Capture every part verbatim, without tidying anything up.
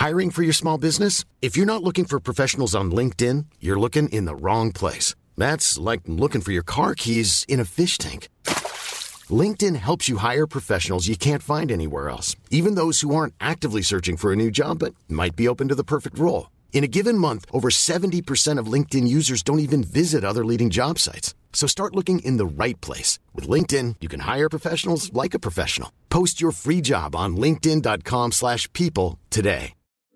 Hiring for your small business? If you're not looking for professionals on LinkedIn, you're looking in the wrong place. That's like looking for your car keys in a fish tank. LinkedIn helps you hire professionals you can't find anywhere else, even those who aren't actively searching for a new job but might be open to the perfect role. In a given month, over seventy percent of LinkedIn users don't even visit other leading job sites. So start looking in the right place. With LinkedIn, you can hire professionals like a professional. Post your free job on linkedin dot com slash people today.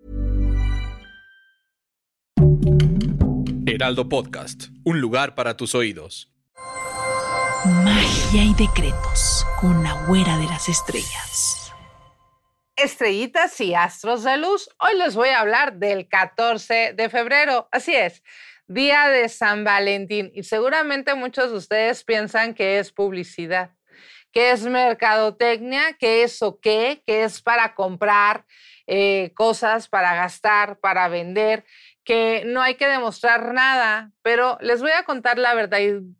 Heraldo Podcast, un lugar para tus oídos. Magia y decretos con la güera de las estrellas. Estrellitas y astros de luz, hoy les voy a hablar del catorce de febrero, así es, día de San Valentín, y seguramente muchos de ustedes piensan que es publicidad, que es mercadotecnia, que es o qué, que es para comprar eh, cosas, para gastar, para vender, que no hay que demostrar nada, pero les voy a contar la verdad,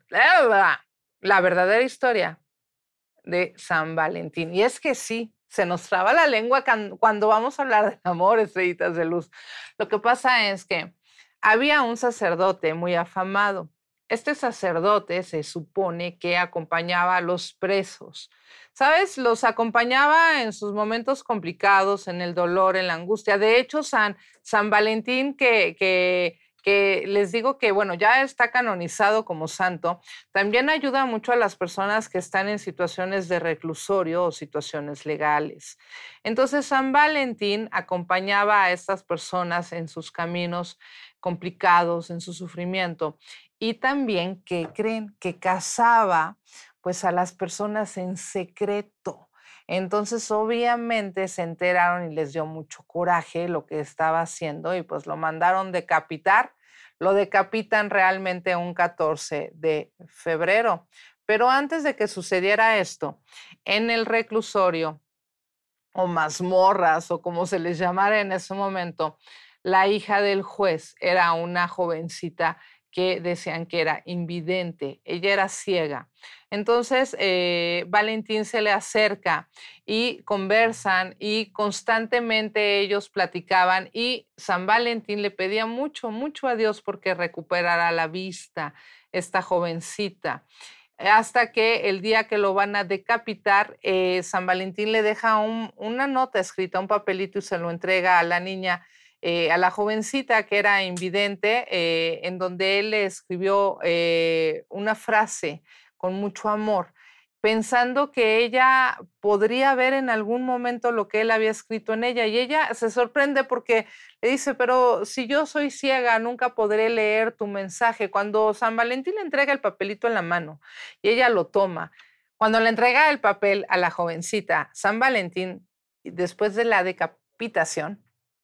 la verdadera historia de San Valentín, y es que sí, se nos traba la lengua cuando vamos a hablar de amor, estrellitas de luz. Lo que pasa es que había un sacerdote muy afamado. Este sacerdote se supone que acompañaba a los presos. ¿Sabes? Los acompañaba en sus momentos complicados, en el dolor, en la angustia. De hecho, San, San Valentín, que... que que les digo que, bueno, ya está canonizado como santo, también ayuda mucho a las personas que están en situaciones de reclusorio o situaciones legales. Entonces, San Valentín acompañaba a estas personas en sus caminos complicados, en su sufrimiento, y también, ¿qué creen? Que casaba, pues, a las personas en secreto. Entonces, obviamente, se enteraron y les dio mucho coraje lo que estaba haciendo y pues lo mandaron decapitar. Lo decapitan realmente un catorce de febrero. Pero antes de que sucediera esto, en el reclusorio o mazmorras o como se les llamara en ese momento, la hija del juez era una jovencita que decían que era invidente, ella era ciega. Entonces, eh, Valentín se le acerca y conversan y constantemente ellos platicaban y San Valentín le pedía mucho, mucho a Dios porque recuperara la vista, esta jovencita. Hasta que el día que lo van a decapitar, eh, San Valentín le deja un, una nota escrita, un papelito y se lo entrega a la niña, Eh, a la jovencita que era invidente, eh, en donde él le escribió eh, una frase con mucho amor, pensando que ella podría ver en algún momento lo que él había escrito en ella. Y ella se sorprende porque le dice, pero si yo soy ciega, nunca podré leer tu mensaje. Cuando San Valentín le entrega el papelito en la mano y ella lo toma, cuando le entrega el papel a la jovencita, San Valentín, después de la decapitación,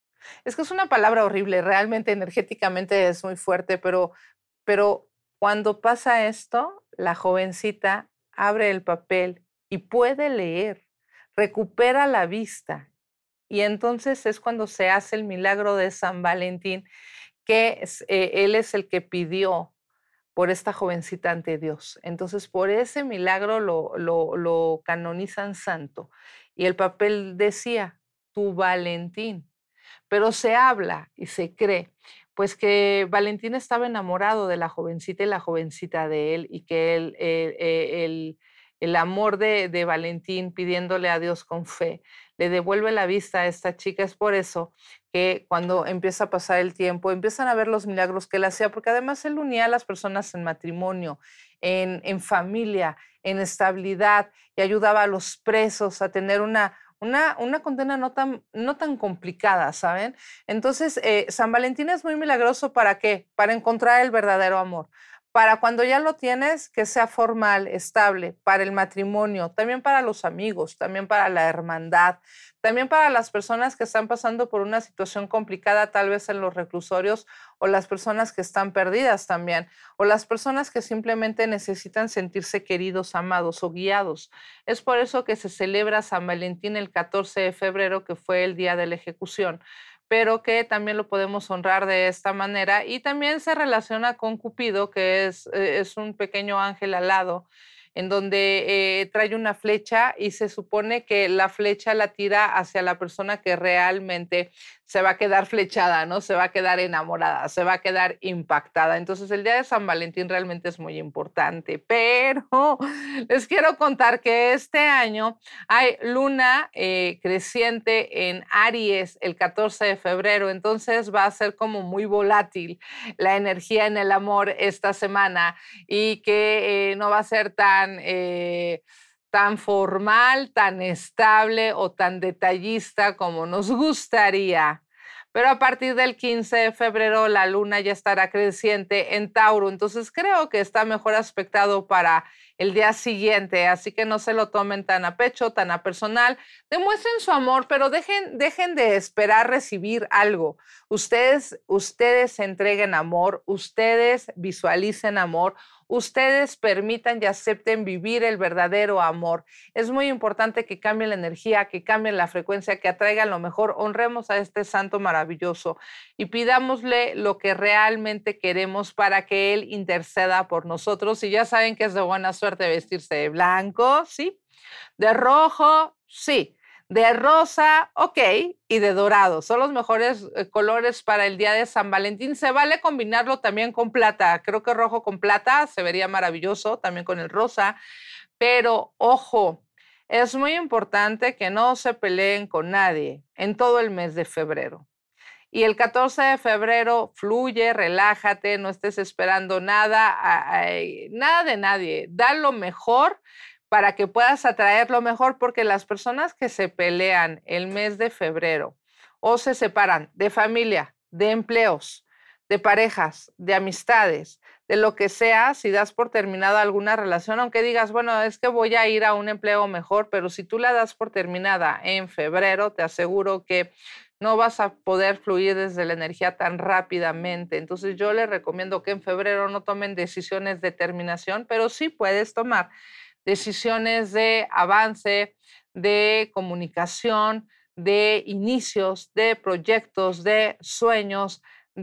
es que es una palabra horrible, realmente energéticamente es muy fuerte, pero, pero cuando pasa esto, la jovencita abre el papel y puede leer, recupera la vista. Y entonces es cuando se hace el milagro de San Valentín, que es, eh, él es el que pidió por esta jovencita ante Dios. Entonces, por ese milagro lo, lo, lo canonizan santo. Y el papel decía, tu Valentín. Pero se habla y se cree, pues que Valentín estaba enamorado de la jovencita y la jovencita de él, y que él, eh, eh, el, el amor de, de Valentín, pidiéndole a Dios con fe, le devuelve la vista a esta chica. Es por eso que cuando empieza a pasar el tiempo, empiezan a ver los milagros que él hacía, porque además él unía a las personas en matrimonio, en, en familia, en estabilidad, y ayudaba a los presos a tener una Una, una condena no tan, no tan complicada, ¿saben? Entonces, eh, San Valentín es muy milagroso. ¿Para qué? Para encontrar el verdadero amor. Para cuando ya lo tienes, que sea formal, estable, para el matrimonio, también para los amigos, también para la hermandad, también para las personas que están pasando por una situación complicada, tal vez en los reclusorios, o las personas que están perdidas también, o las personas que simplemente necesitan sentirse queridos, amados o guiados. Es por eso que se celebra San Valentín el catorce de febrero, que fue el día de la ejecución, pero que también lo podemos honrar de esta manera, y también se relaciona con Cupido, que es, eh, es un pequeño ángel alado, en donde eh, trae una flecha y se supone que la flecha la tira hacia la persona que realmente se va a quedar flechada, ¿no? Se va a quedar enamorada, se va a quedar impactada. Entonces, el día de San Valentín realmente es muy importante, pero les quiero contar que este año hay luna eh, creciente en Aries el catorce de febrero, entonces va a ser como muy volátil la energía en el amor esta semana y que eh, no va a ser tan... Eh, tan formal, tan estable o tan detallista como nos gustaría. Pero a partir del quince de febrero la luna ya estará creciente en Tauro, entonces creo que está mejor aspectado para el día siguiente, así que no se lo tomen tan a pecho, tan a personal. Demuestren su amor, pero dejen, dejen de esperar recibir algo. Ustedes, ustedes entreguen amor, ustedes visualicen amor, ustedes permitan y acepten vivir el verdadero amor. Es muy importante que cambien la energía, que cambien la frecuencia, que atraigan lo mejor. Honremos a este santo maravilloso y pidámosle lo que realmente queremos para que él interceda por nosotros. Y ya saben que es de buena suerte vestirse de blanco, ¿sí? De rojo, sí. De rosa, ok, y de dorado. Son los mejores eh, colores para el día de San Valentín. Se vale combinarlo también con plata. Creo que rojo con plata se vería maravilloso, también con el rosa. Pero, ojo, es muy importante que no se peleen con nadie en todo el mes de febrero. Y el catorce de febrero fluye, relájate, no estés esperando nada, a, a, nada de nadie. Da lo mejor para que puedas atraer lo mejor, porque las personas que se pelean el mes de febrero o se separan de familia, de empleos, de parejas, de amistades, de lo que sea, si das por terminada alguna relación, aunque digas, bueno, es que voy a ir a un empleo mejor, pero si tú la das por terminada en febrero, te aseguro que no vas a poder fluir desde la energía tan rápidamente. Entonces yo les recomiendo que en febrero no tomen decisiones de terminación, pero sí puedes tomar decisiones de avance, de comunicación, de inicios, de proyectos, de sueños,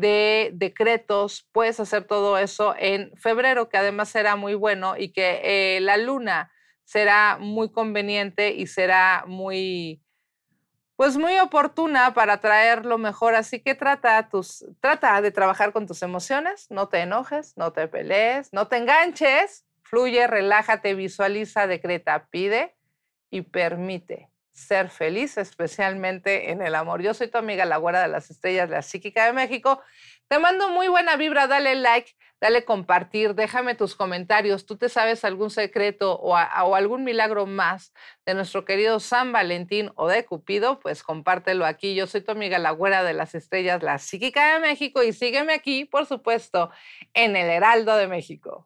de decretos. Puedes hacer todo eso en febrero, que además será muy bueno y que eh, la luna será muy conveniente y será muy, pues muy oportuna para traer lo mejor. Así que trata, tus, trata de trabajar con tus emociones, no te enojes, no te pelees, no te enganches. Fluye, relájate, visualiza, decreta, pide y permite ser feliz, especialmente en el amor. Yo soy tu amiga la Güera de las Estrellas, la Psíquica de México. Te mando muy buena vibra, dale like, dale compartir, déjame tus comentarios. ¿Tú te sabes algún secreto o, a, o algún milagro más de nuestro querido San Valentín o de Cupido? Pues compártelo aquí. Yo soy tu amiga la Güera de las Estrellas, la Psíquica de México, y sígueme aquí, por supuesto, en el Heraldo de México.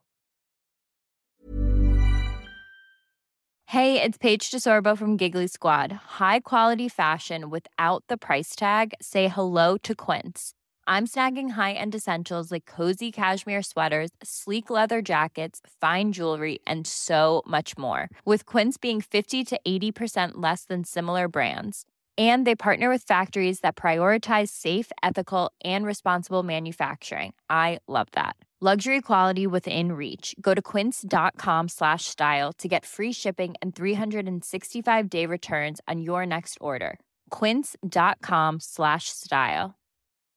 Hey, it's Paige DeSorbo from Giggly Squad. High quality fashion without the price tag. Say hello to Quince. I'm snagging high-end essentials like cozy cashmere sweaters, sleek leather jackets, fine jewelry, and so much more. With Quince being fifty to eighty percent less than similar brands. And they partner with factories that prioritize safe, ethical, and responsible manufacturing. I love that. Luxury quality within reach. Go to quince.com slash style to get free shipping and three sixty-five day returns on your next order. Quince.com slash style.